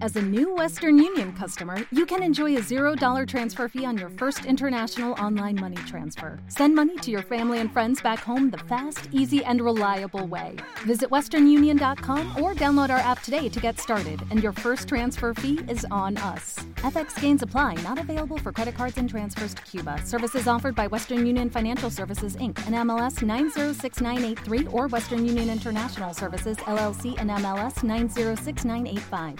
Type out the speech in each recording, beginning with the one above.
As a new Western Union customer, you can enjoy a $0 transfer fee on your first international online money transfer. Send money to your family and friends back home the fast, easy, and reliable way. Visit westernunion.com or download our app today to get started, and your first transfer fee is on us. FX gains apply, not available for credit cards and transfers to Cuba. Services offered by Western Union Financial Services, Inc., and MLS 906983, or Western Union International Services, LLC, and MLS 906985.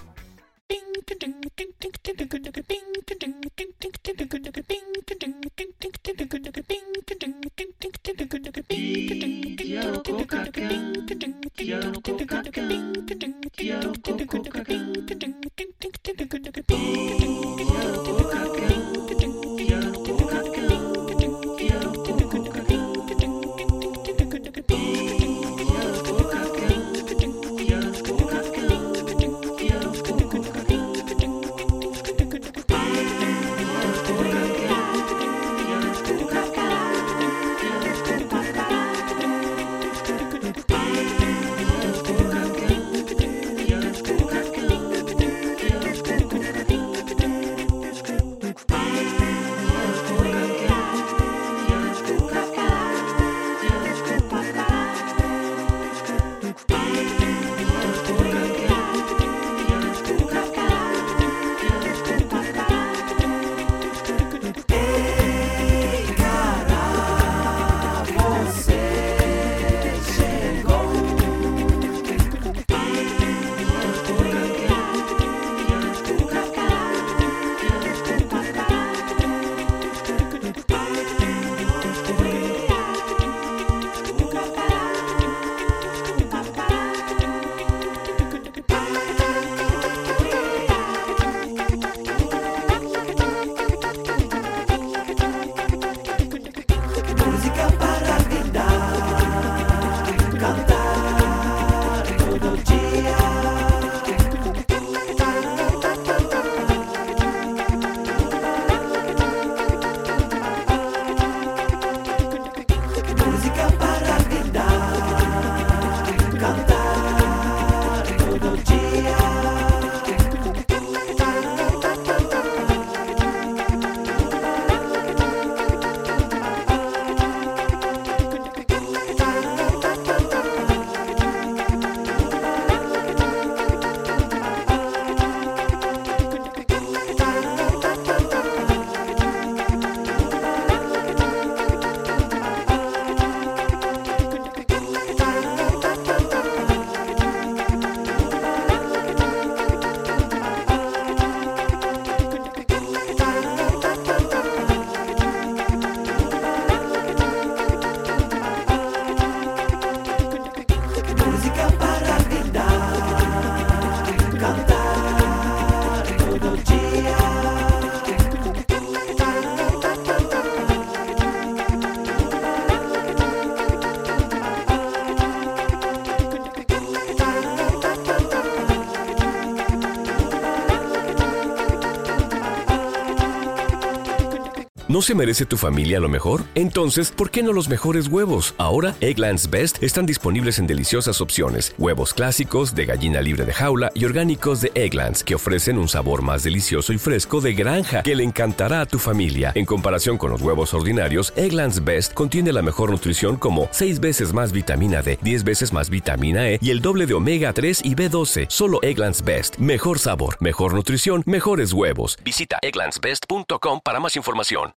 ¿No se merece tu familia lo mejor? Entonces, ¿por qué no los mejores huevos? Ahora, Eggland's Best están disponibles en deliciosas opciones. Huevos clásicos, de gallina libre de jaula y orgánicos de Eggland's, que ofrecen un sabor más delicioso y fresco de granja que le encantará a tu familia. En comparación con los huevos ordinarios, Eggland's Best contiene la mejor nutrición como 6 veces más vitamina D, 10 veces más vitamina E y el doble de omega 3 y B12. Solo Eggland's Best. Mejor sabor, mejor nutrición, mejores huevos. Visita egglandsbest.com para más información.